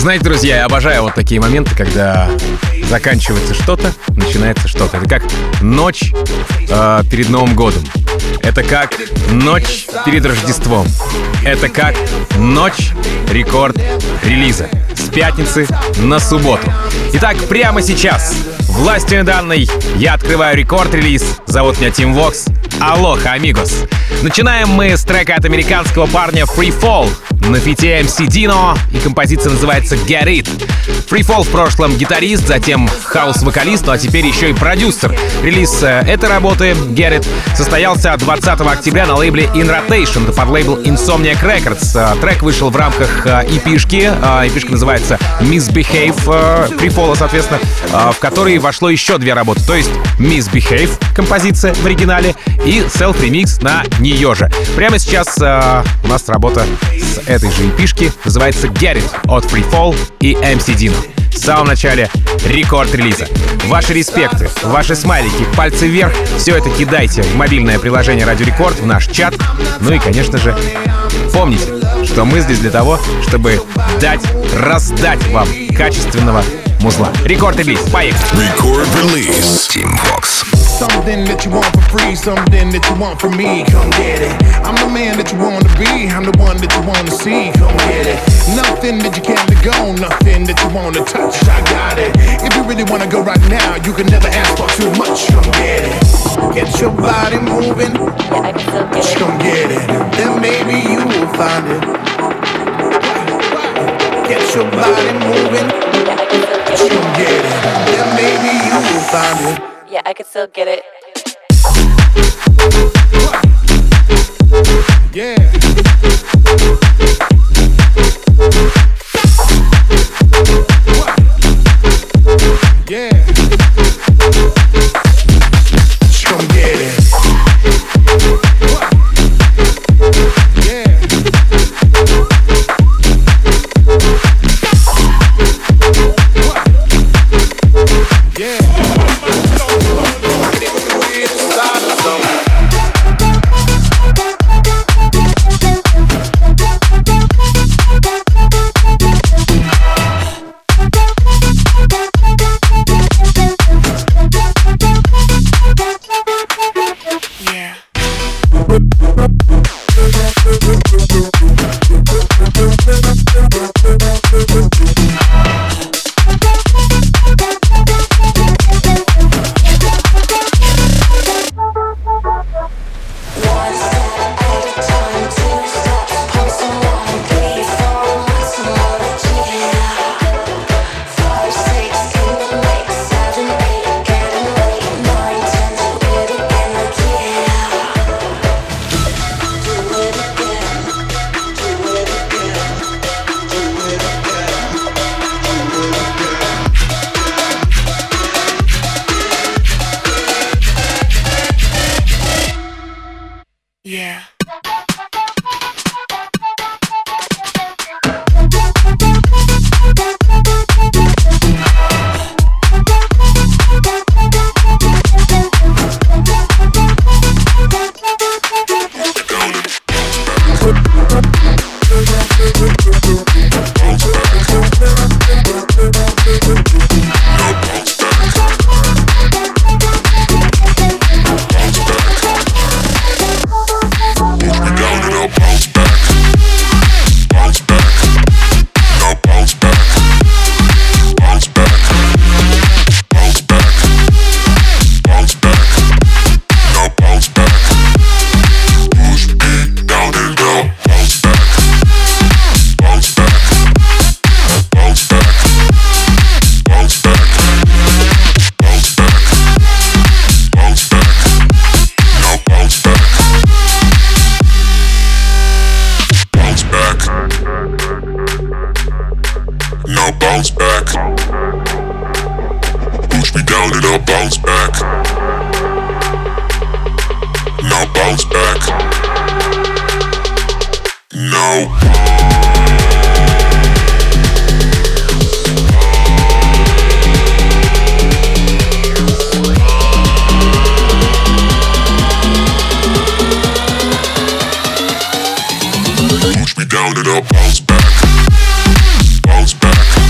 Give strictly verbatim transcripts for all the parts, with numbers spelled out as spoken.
Знаете, друзья, я обожаю вот такие моменты, когда заканчивается что-то, начинается что-то. Это как ночь э, перед Новым годом. Это как ночь перед Рождеством. Это как ночь рекорд-релиза. С пятницы на субботу. Итак, прямо сейчас, властью данной, я открываю рекорд-релиз. Зовут меня Тим Вокс. Алоха, амигос. Начинаем мы с трека от американского парня Free Fall на фите эм си Dino, и композиция называется Get It. Free Fall в прошлом гитарист, затем хаус-вокалист, ну а теперь еще и продюсер. Релиз э, этой работы, Get It, состоялся двадцатого октября на лейбле In Rotation, под лейбл Insomniac Records. Э, трек вышел в рамках э, и-пишки, э, и-пишка называется Misbehave, э, Free Fall, соответственно, э, в которой вошло еще две работы, то есть Misbehave, композиция в оригинале, и селф-ремикс на нее же. Прямо сейчас э, у нас работа с этой же и-пишки, называется Get It от Free Fall и эм си Dino. В самом начале рекорд-релиза. Ваши респекты, ваши смайлики, пальцы вверх, все это кидайте в мобильное приложение Радио Рекорд, в наш чат. Ну и, конечно же, помните, что мы здесь для того, чтобы дать, раздать вам качественного музла. Рекорд-релиз, поехали! Рекорд-релиз. Team Vox. Something that you want for free, something that you want from me, come get it. I'm the man that you want to be, I'm the one that you want to see, come get it. Nothing that you can't let go, nothing that you want to touch, I got it. If you really want to go right now, you can never ask for too much, come get it. Get your body moving, just come get it. Then maybe you will find it. Get your body moving, just come get it. Then maybe you will find it. Yeah, I could still get it. Yeah. Yeah. Just come get it. Yeah. Yeah. Yeah. Push me down and I'll bounce back, bounce back.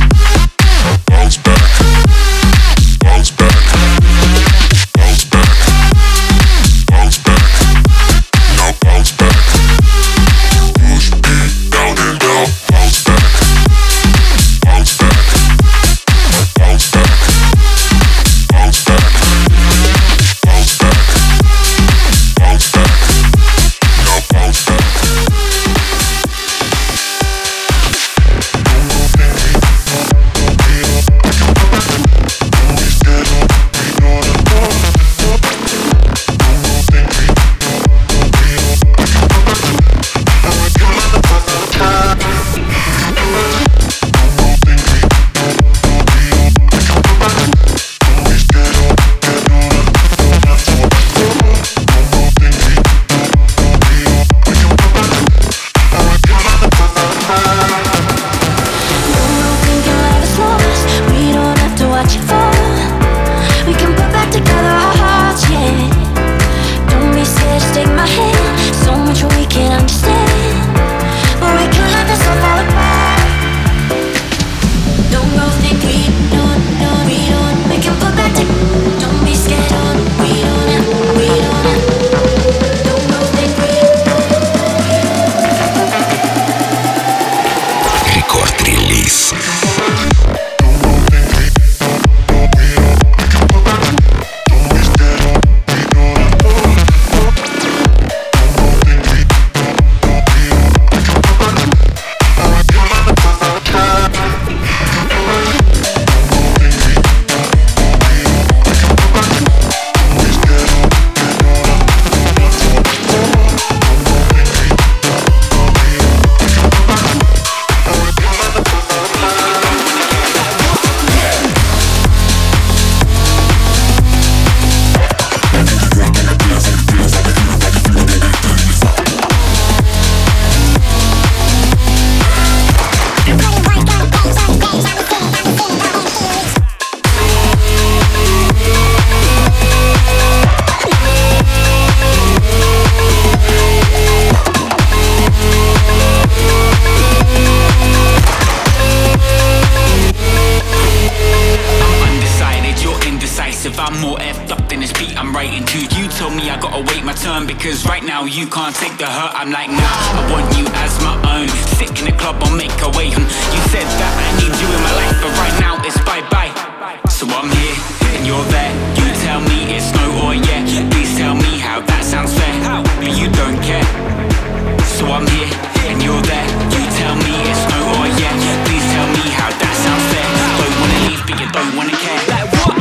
Cause right now you can't take the hurt. I'm like, nah, I want you as my own. Sick in the club, I'll make a way. You said that I need you in my life, but right now it's bye-bye. So I'm here, and you're there. You tell me it's no or yeah. Please tell me how that sounds fair. But you don't care. So I'm here, and you're there. You tell me it's no or yeah. Please tell me how that sounds fair. Don't wanna leave, but you don't wanna care. Like what?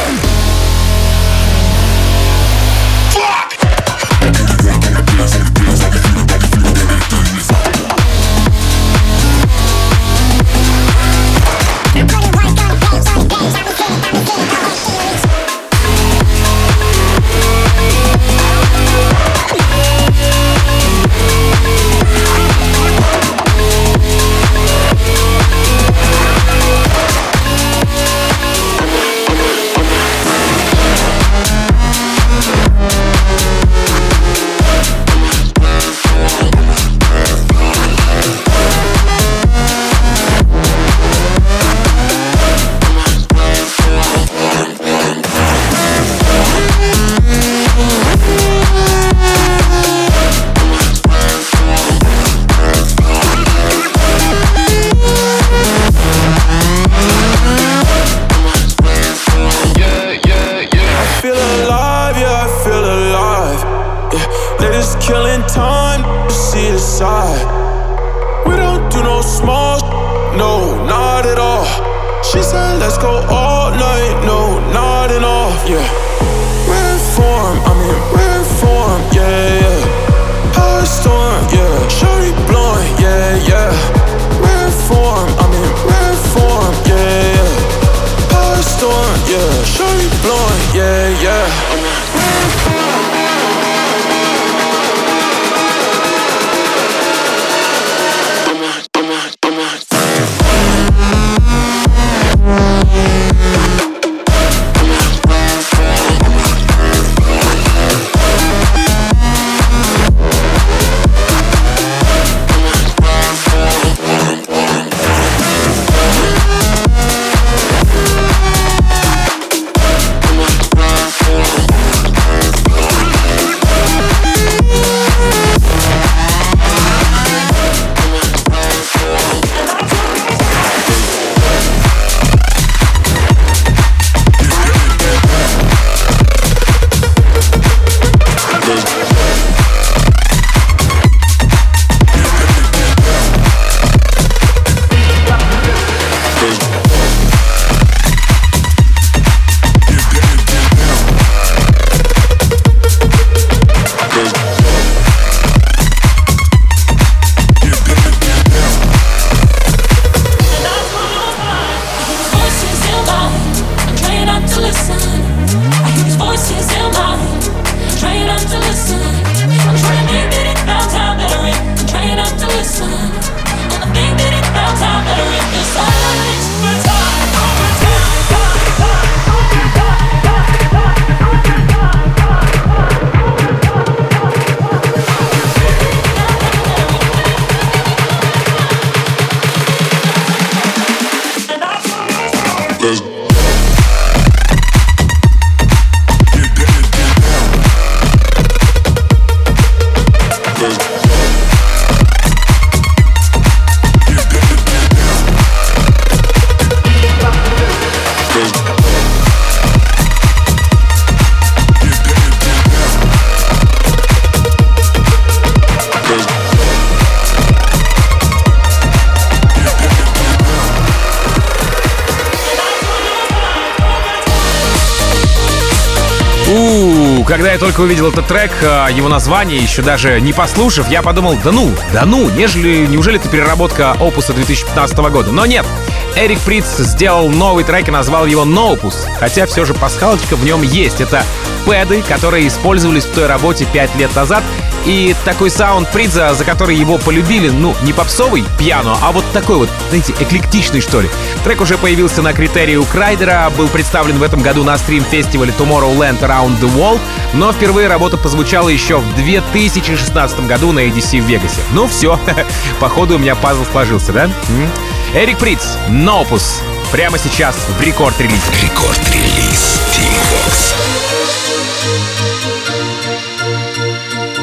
Когда я только увидел этот трек, его название, еще даже не послушав, я подумал, да ну, да ну, нежели, неужели это переработка опуса две тысячи пятнадцатого года? Но нет, Эрик Придз сделал новый трек и назвал его No Opus, хотя все же пасхалочка в нем есть. Это пэды, которые использовались в той работе пять лет назад, и такой саунд Придза, за который его полюбили, ну, не попсовый пиано, а вот такой вот, знаете, эклектичный, что ли. Трек уже появился на критерии у Крайдера, был представлен в этом году на стрим-фестивале Tomorrowland Around the World, но впервые работа позвучала еще в две тысячи шестнадцатом году на и ди си в Вегасе. Ну все, походу у меня пазл сложился, да? Эрик Придз, No Opus, прямо сейчас в рекорд-релизе. Рекорд-релиз Team Vox.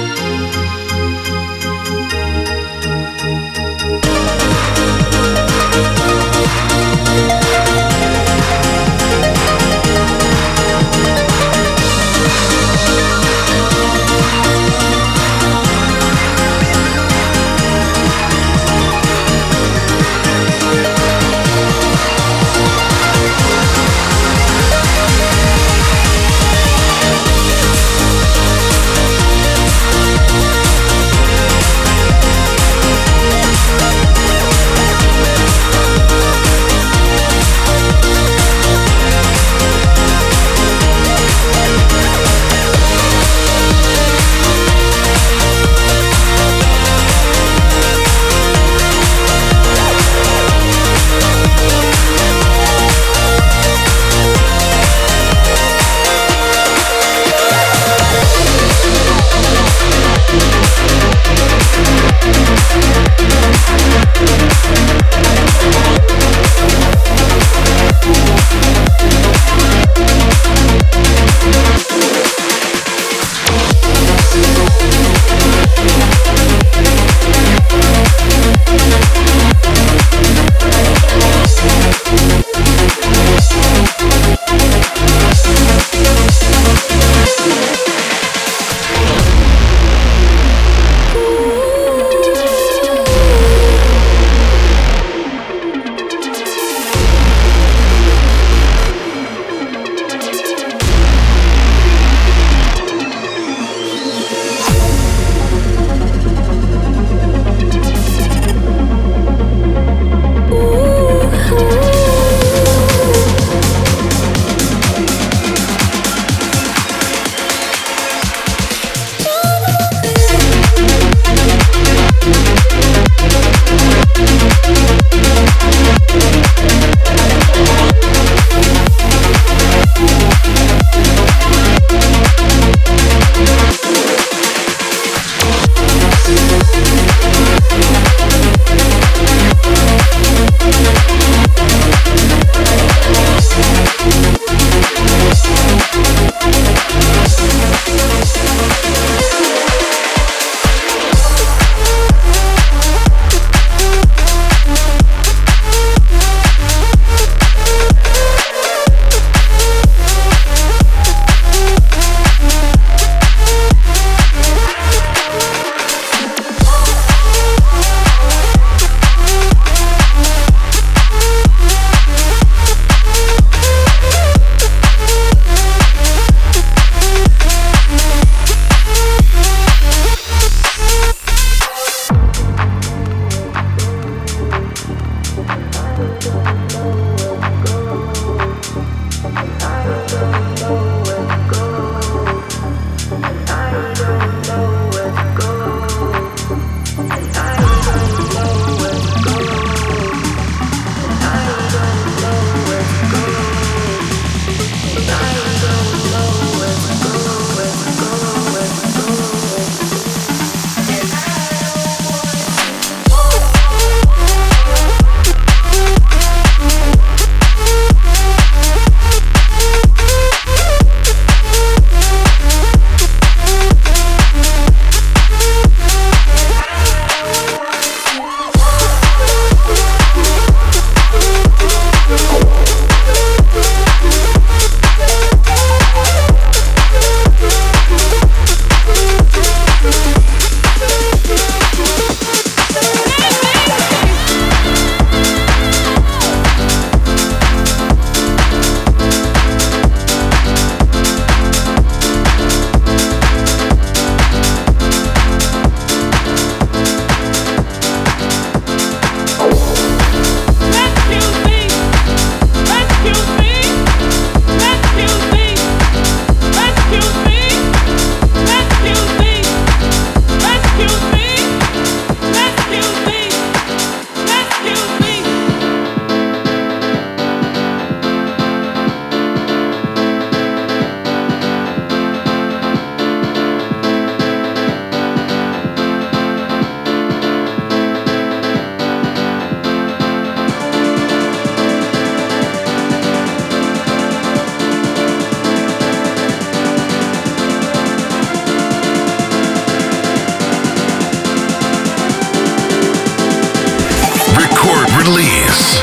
release.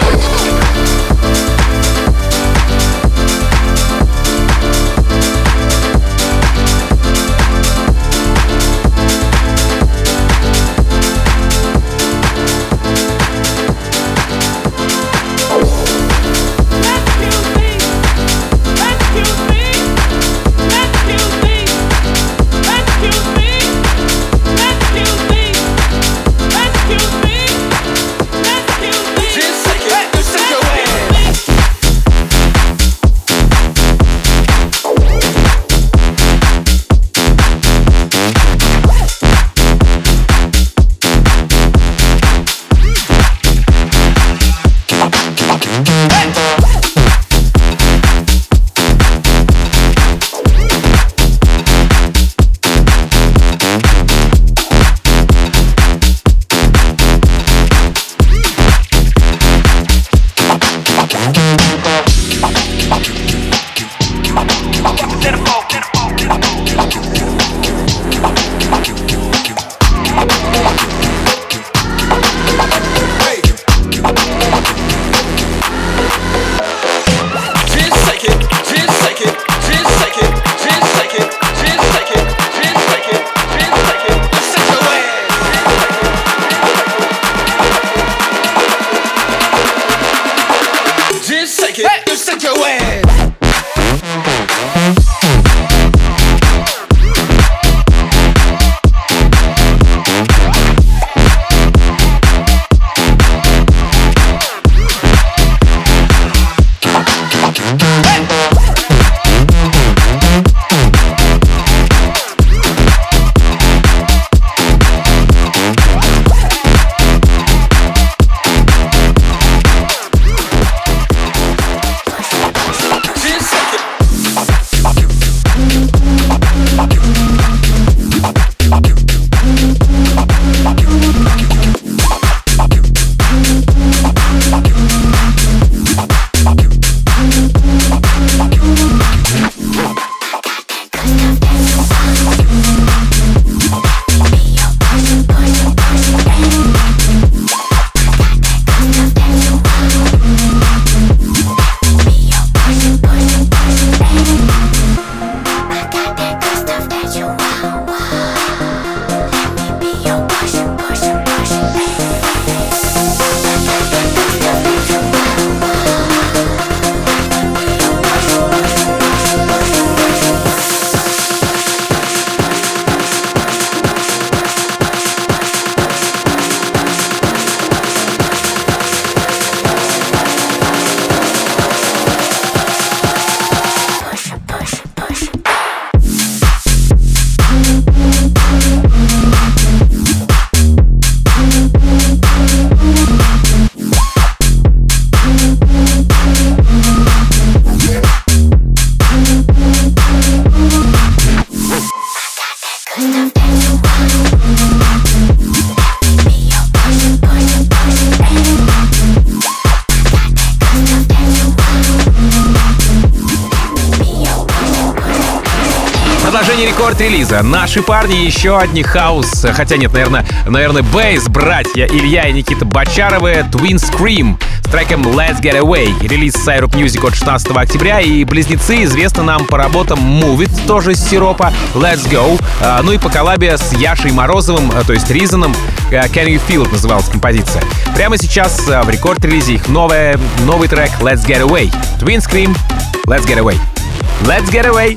Рекорд-релиза. Наши парни, еще одни хаус, хотя нет, наверное, наверное, бейс, братья Илья и Никита Бочаровы, Twin Scream с треком Let's Get Away. Релиз Syrup Music от шестнадцатого октября, и близнецы известны нам по работам Move It, тоже из Сиропа, Let's Go, ну и по коллабе с Яшей Морозовым, то есть Ризаном, Can You Feel It называлась композиция. Прямо сейчас в рекорд-релизе их новая, новый трек Let's Get Away. Twin Scream, Let's Get Away. Let's Get Away.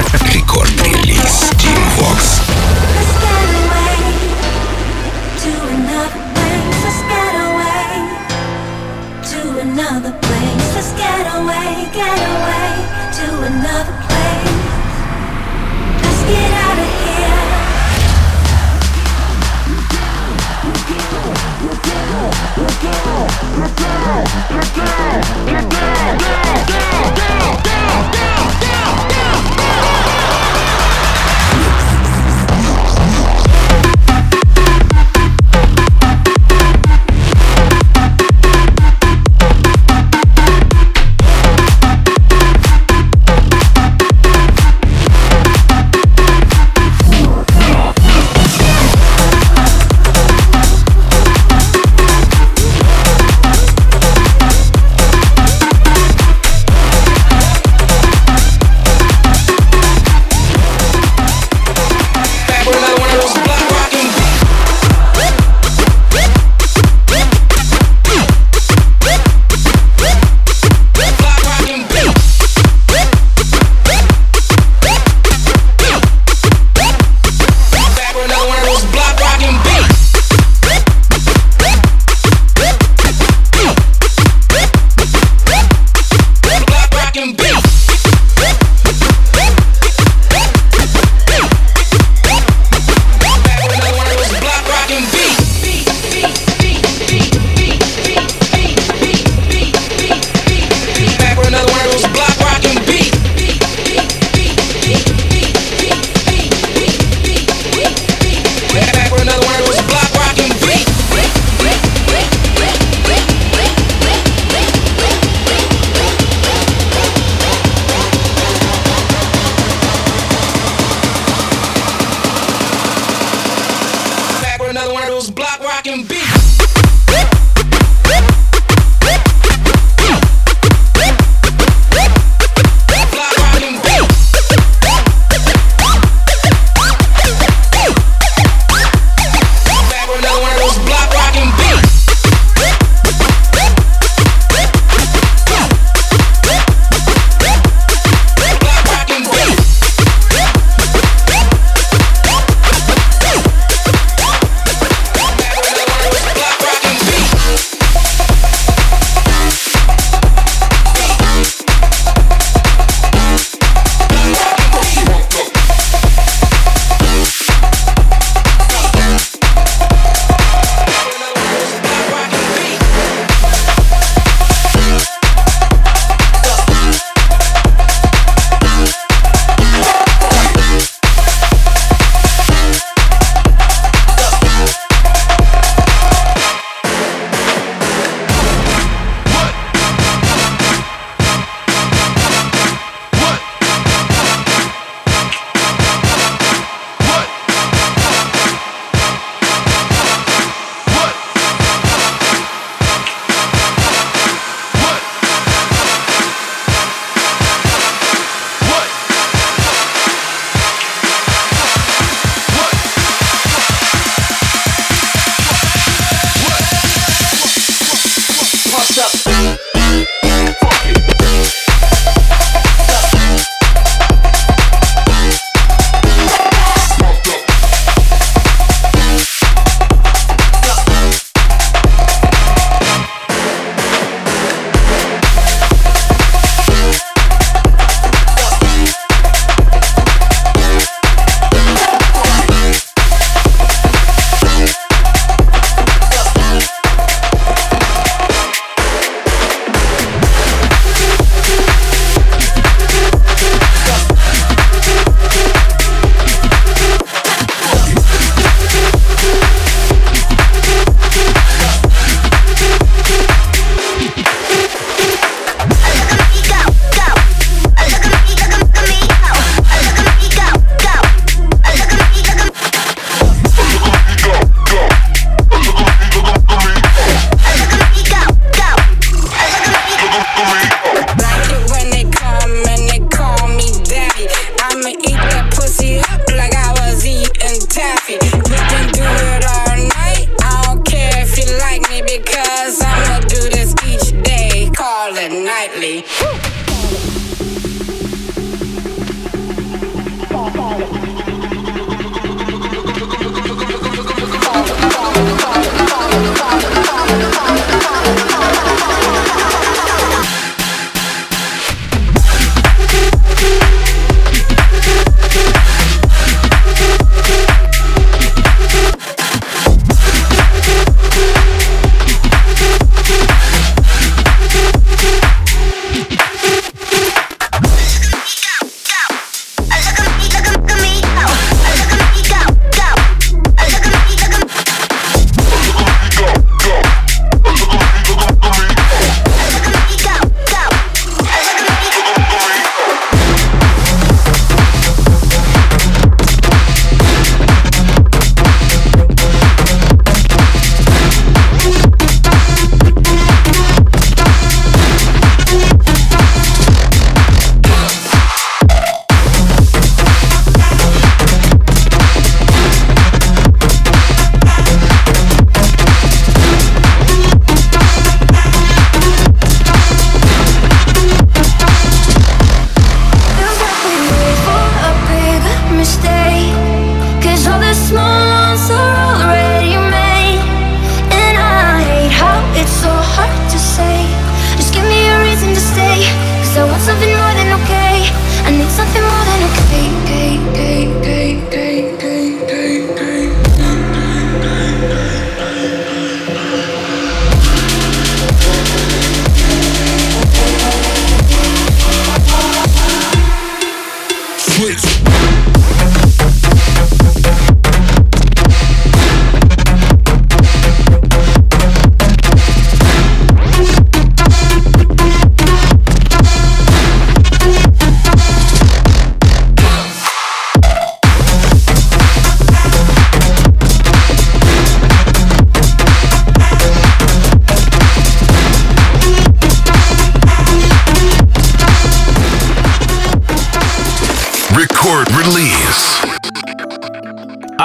Рекорд-релиз Team Vox. Another place, let's get away, get away to another place. Let's get out of here. Let's go, let's go, let's go, let's go, let's go, let's go, let's go, go, go, go, go, go, go. another one of those block rockin' beats.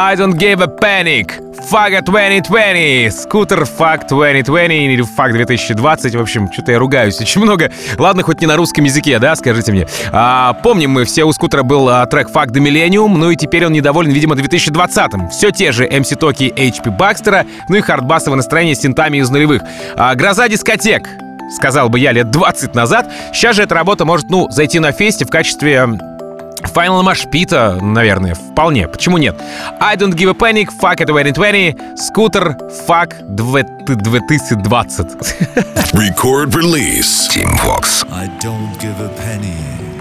I don't give a panic. Fuck двадцать двадцать. Скутер Fuck двадцать двадцать или Fuck две тысячи двадцать. В общем, что-то я ругаюсь очень много. Ладно, хоть не на русском языке, да, скажите мне. А, помним мы, все у Скутера был а, трек Fuck the Millennium, ну и теперь он недоволен, видимо, две тысячи двадцатым. Все те же эм си Токи и эйч пи Бакстера, ну и хардбасовое настроение с синтами из нулевых. А, гроза дискотек, сказал бы я лет двадцать назад. Сейчас же эта работа может, ну, зайти на фесте в качестве Final Машпита, наверное, вполне. Почему нет? I don't give a panic, Fuck двадцать двадцать, Скутер Fuck две тысячи двадцать. Record release. Team Vox. I don't give a penny.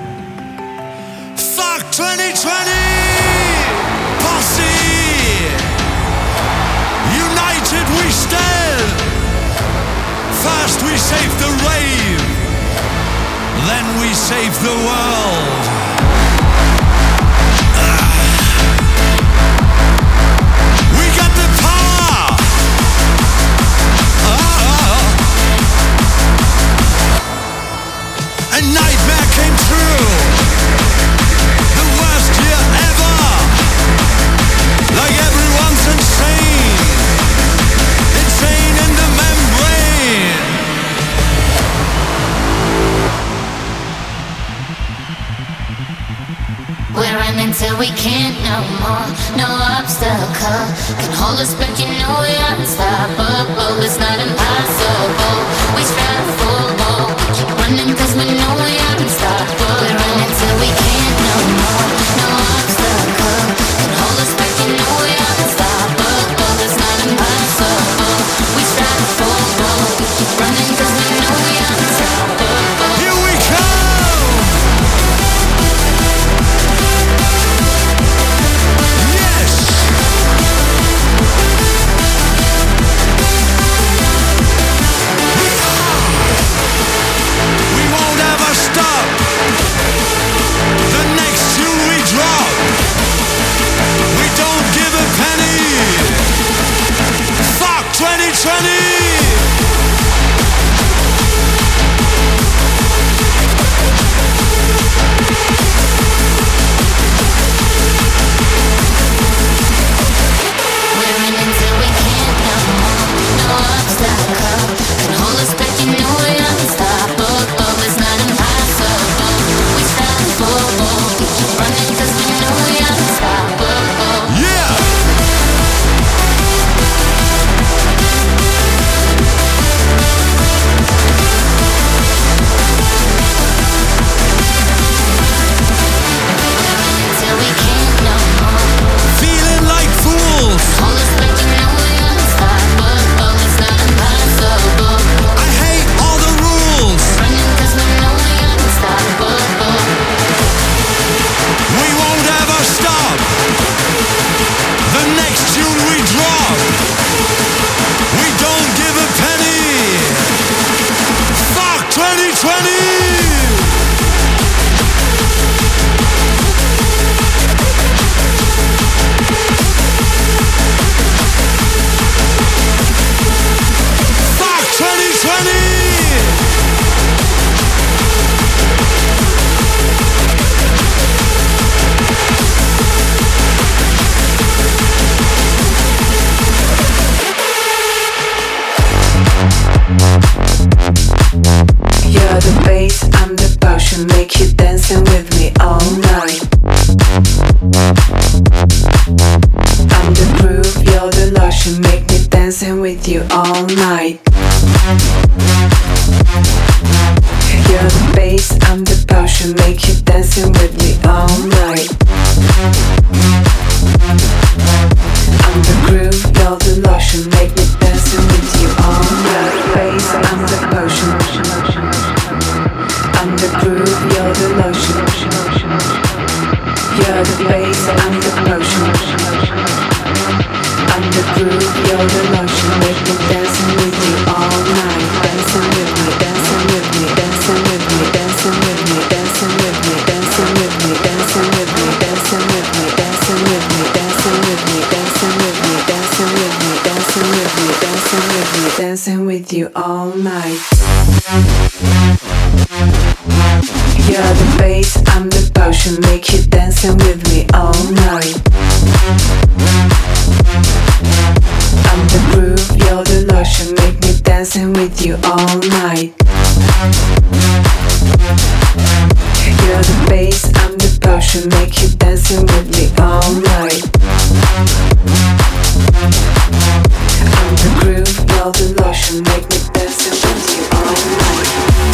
Fuck twenty twenty! Posse! United we stand! First we save the rave, then we save the world. A nightmare came true. The worst year ever. Like everyone's insane. Insane in the membrane. We're running till we can't no more. No obstacle can hold us back. You know we're unstoppable. It's not impossible. We strive for more. Keep running 'cause we know we're unstoppable. We're running till we can't no more. No obstacle can hold us back. You know we're unstoppable. It's not impossible. We strive for more. Keep running 'cause we know we're unstoppable. Here we come. twenty twenty! Dancing with you all night. You're the bass, I'm the potion, make you dancing with me all night. I'm the groove, you're the lotion, make me dancing with you all night. You're the bass, I'm the potion, make you dancing with me all night. I'm the groove, you're the lotion, make me dancing with you all night.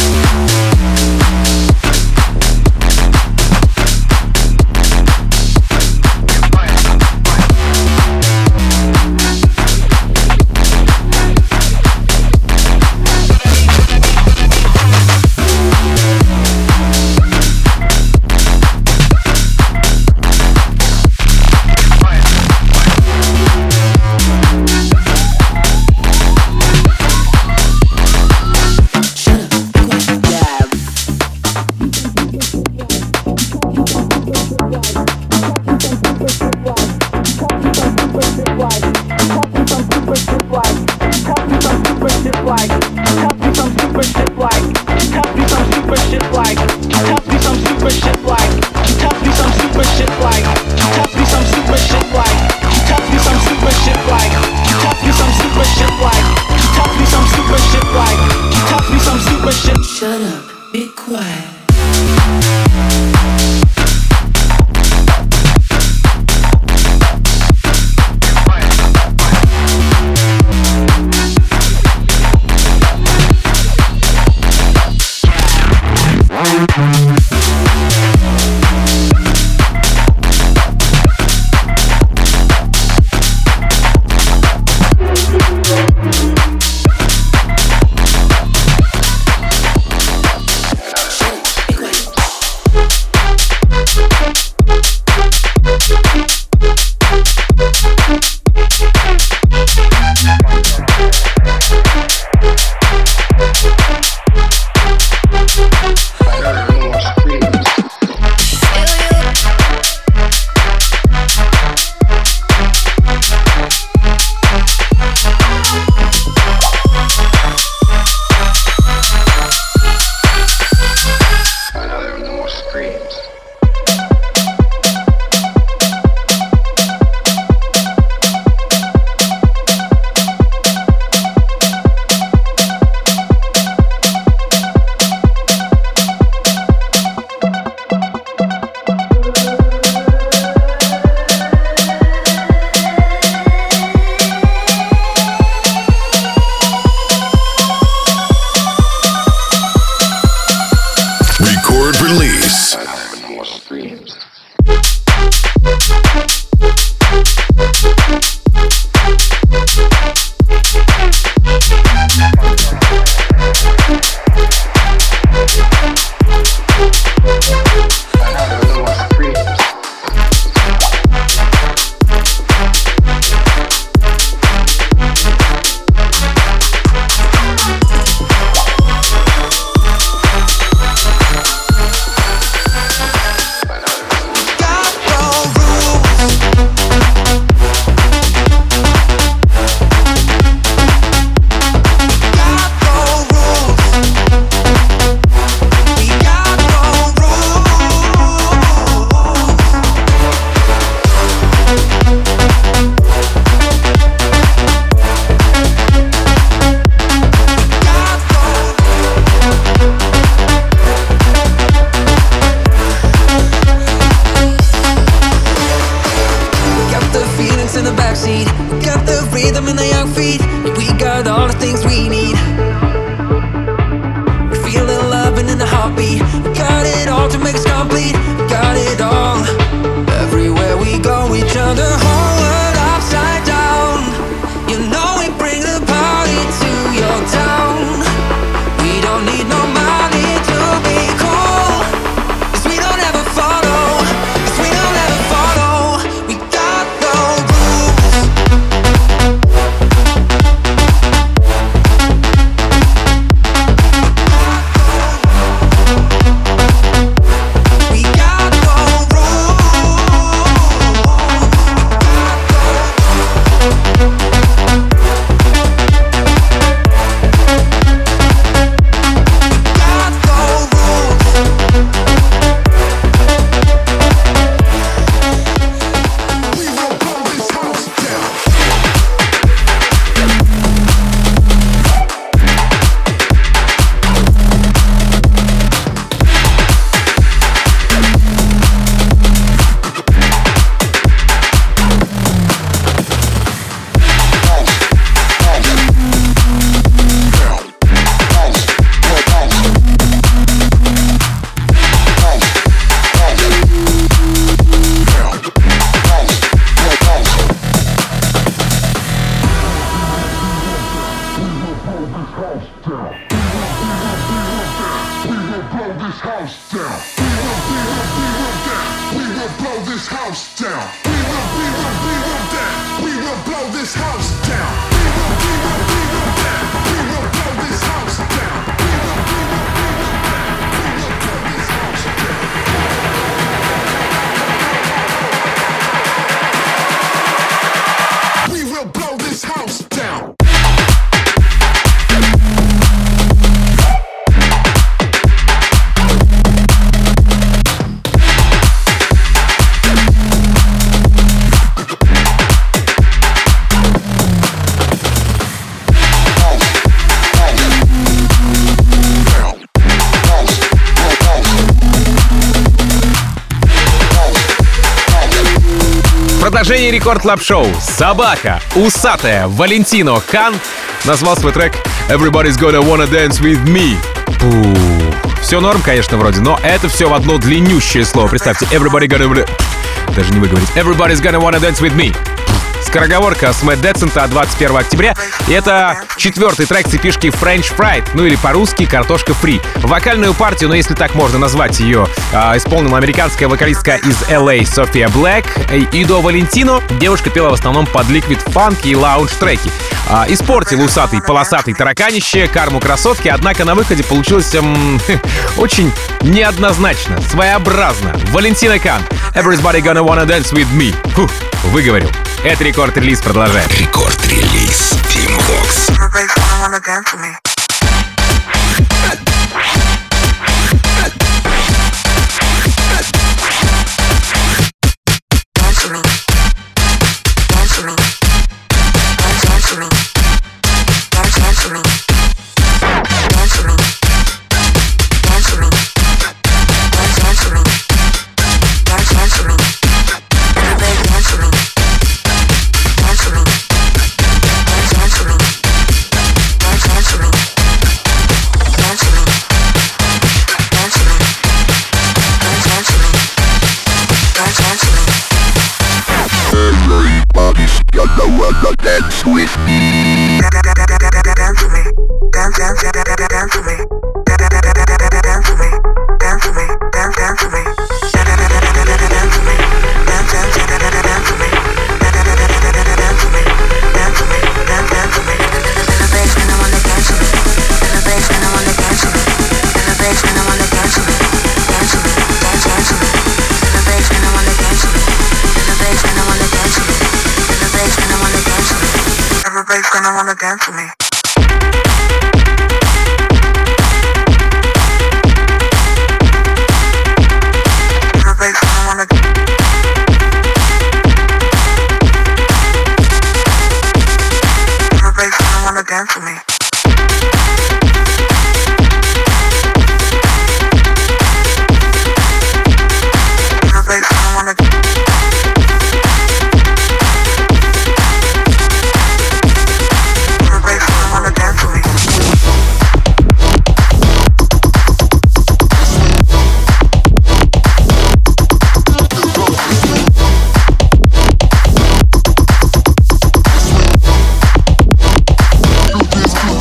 Shut up, be quiet. Продолжение Рекорд Клаб Шоу. Собака, усатая, Валентино Кан назвал свой трек Everybody's Gonna Wanna Dance With Me. Пух. Все норм, конечно, вроде, но это все в одно длиннющее слово. Представьте, Everybody Gonna... Даже не выговорить. Everybody's Gonna Wanna Dance With Me. Скороговорка с Мэтт Децента от двадцать первого октября. И это четвертый трек цепишки French Fried, ну или по-русски картошка фри. Вокальную партию, ну если так можно назвать ее, э, исполнила американская вокалистка из эл эй София Блэк. И до Валентино девушка пела в основном под ликвид фанк и лаунж треки. Э, испортил усатый полосатый тараканище карму красотки, однако на выходе получилось эм, очень неоднозначно, своеобразно. Валентино Кан, Everybody Gonna Wanna Dance With Me. Фух, выговорил. Это рекорд-релиз продолжает. Рекорд-релиз Team Vox. Dance with me. Dance with me. Dance, dance, dance with me. Dance with me. Dance with me. Dance, dance with me. Dance with me. Dance, dance, dance with me. Dance with me. Dance with me. Dance, dance with me. In the basement, I wanna dance with me. In the basement, I wanna dance with me. In the basement, I wanna dance with me. Dance with me. Dance, dance with me. In the basement, I wanna dance with me. In the basement, I wanna dance with me. In the basement, I wanna dance with me. Everybody's gonna wanna dance with me. Everybody's gonna wanna Everybody's gonna wanna dance with me. Everybody's gonna wanna This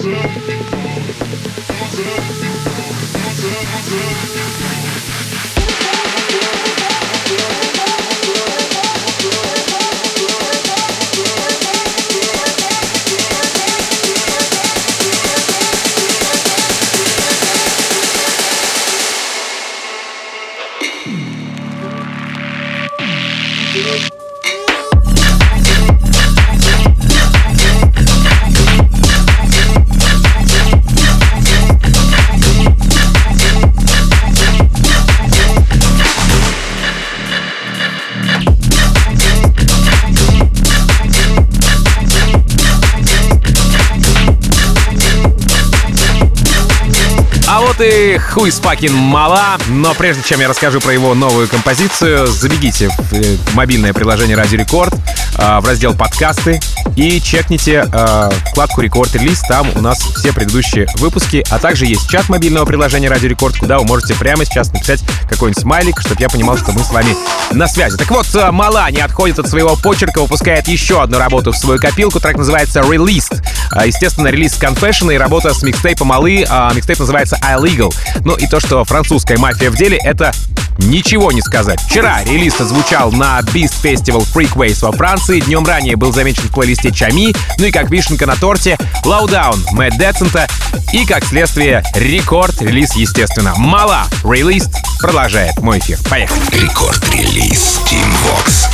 И Who is fucking Mala. Но прежде чем я расскажу про его новую композицию, забегите в мобильное приложение Радио Рекорд, в раздел подкасты и чекните вкладку Рекорд-релиз. Там у нас все предыдущие выпуски, а также есть чат мобильного приложения Радио Рекорд, куда вы можете прямо сейчас написать какой-нибудь смайлик, чтобы я понимал, что мы с вами на связи. Так вот, Мала не отходит от своего почерка, выпускает еще одну работу в свою копилку. Трек называется Released. Естественно, релиз Confession и работа с микстейпом Малы. Микстейп называется Illegal. Ну и то, что французская мафия в деле, это ничего не сказать. Вчера релиз отзвучал на Beast Festival Freakways во Франции. Днем ранее был замечен в плейлисте Чами. Ну и как вишенка на торте, Lowdown Мэтт Децента. И как следствие, рекорд-релиз, естественно. Мала Released продолжает мой эфир. Поехали. Рекорд-релиз Team Vox.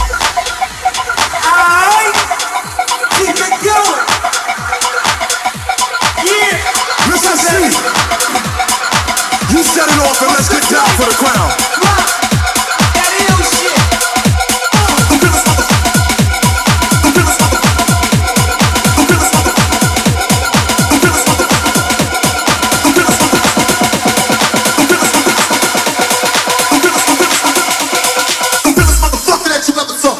You set it off and let's get down for the crown. That ill shit. The realest motherfucker. The realest motherfucker. The realest motherfucker. The realest motherfucker. The realest motherfucker. The realest motherfucker. The realest motherfucker. The realest motherfucker that you ever saw.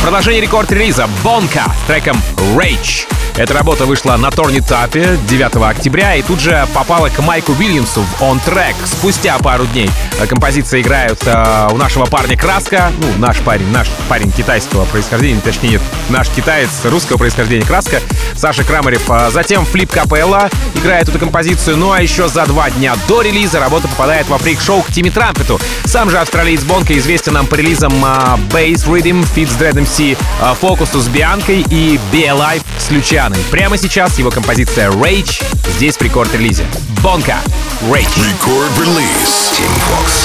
Продолжение рекорд-релиза Бонка с треком Rage. Эта работа вышла на Торнитапе девятого октября и тут же попала к Майку Уильямсу в On Track спустя пару дней. Композиции играют э, у нашего парня Краска, ну, наш парень, наш парень китайского происхождения, точнее, нет, наш китаец русского происхождения Краска, Саша Крамарев. Затем Флип Капелла играет эту композицию, ну а еще за два дня до релиза работа попадает во фрик-шоу к Тимми Трампету. Сам же австралиец Бонка известен нам по релизам uh, Bass Rhythm, Feat с Dread эм си, uh, Focus с Бианкой и Be Alive с Лючаной. Прямо сейчас его композиция Rage здесь в рекорд-релизе. Бонка, Rage. Record release. Team Vox.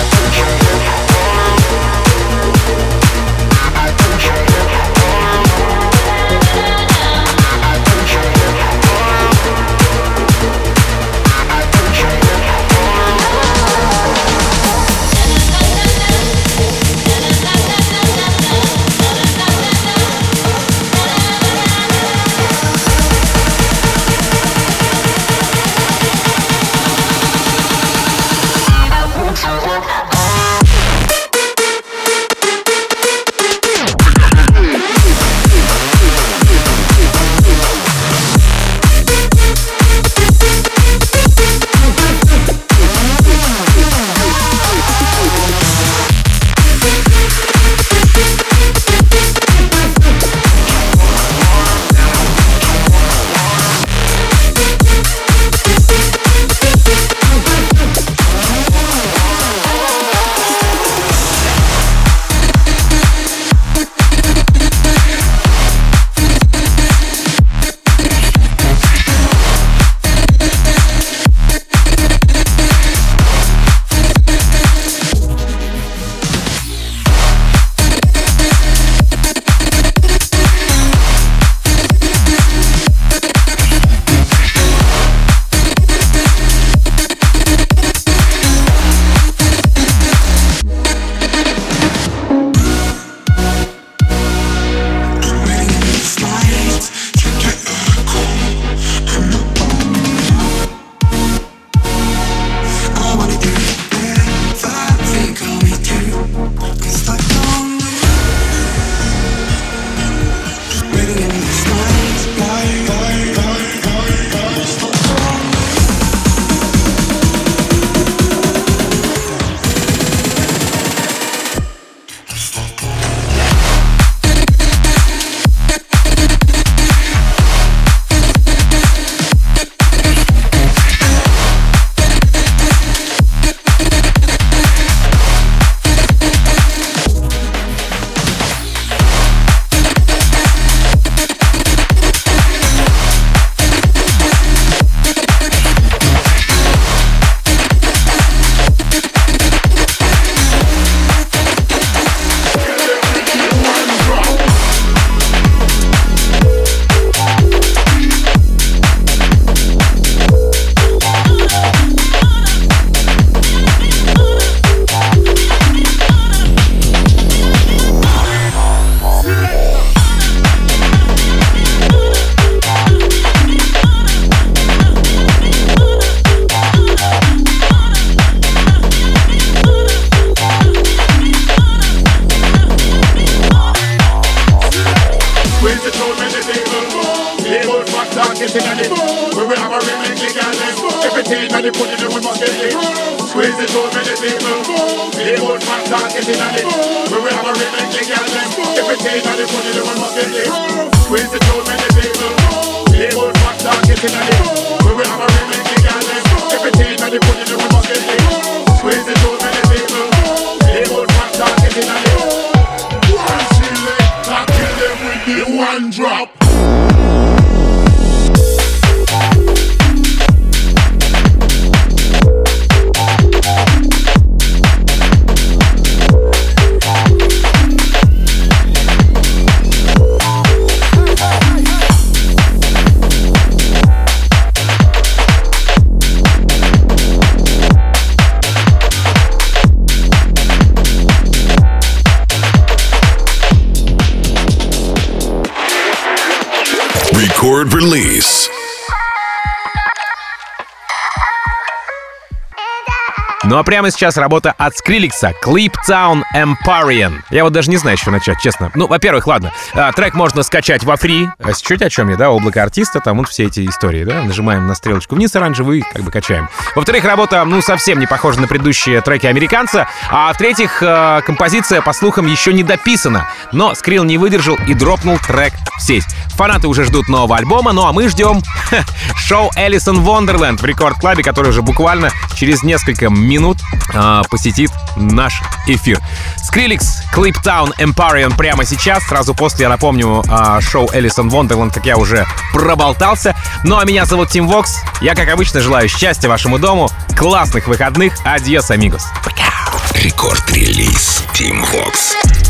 Record release. Ну а прямо сейчас работа от Скриликса, Clip Town Empyrean. Я вот даже не знаю, с чего начать, честно. Ну, во-первых, ладно, а, трек можно скачать во фри. А чуть о чем я, да, облако артиста, там вот все эти истории, да, нажимаем на стрелочку вниз оранжевый, как бы качаем. Во-вторых, работа, ну, совсем не похожа на предыдущие треки американца. А в-третьих, э, композиция, по слухам, еще не дописана. Но Скрил не выдержал и дропнул трек в сеть. Фанаты уже ждут нового альбома, ну а мы ждем ха, шоу Alice in Wonderland в рекорд-клабе, который уже буквально через несколько минут э, посетит наш эфир. Скриликс, Clip Town Empyrean прямо сейчас. Сразу после, я напомню, э, шоу Alice in Wonderland, как я уже проболтался. Ну а меня зовут Тим Вокс. Я, как обычно, желаю счастья вашему дому, классных выходных. Адьос, амигос. Рекорд-релиз Team Vox.